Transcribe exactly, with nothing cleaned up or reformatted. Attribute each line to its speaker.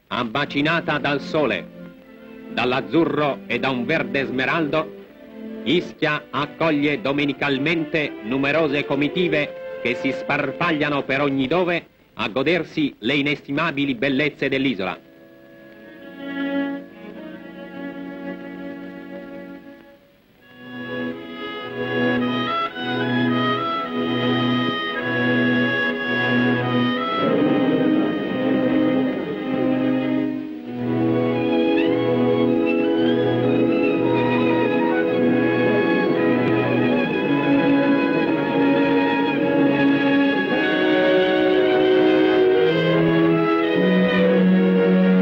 Speaker 1: Abbacinata dal sole, dall'azzurro e da un verde smeraldo, Ischia accoglie domenicalmente numerose comitive che si sparpagliano per ogni dove a godersi le inestimabili bellezze dell'isola.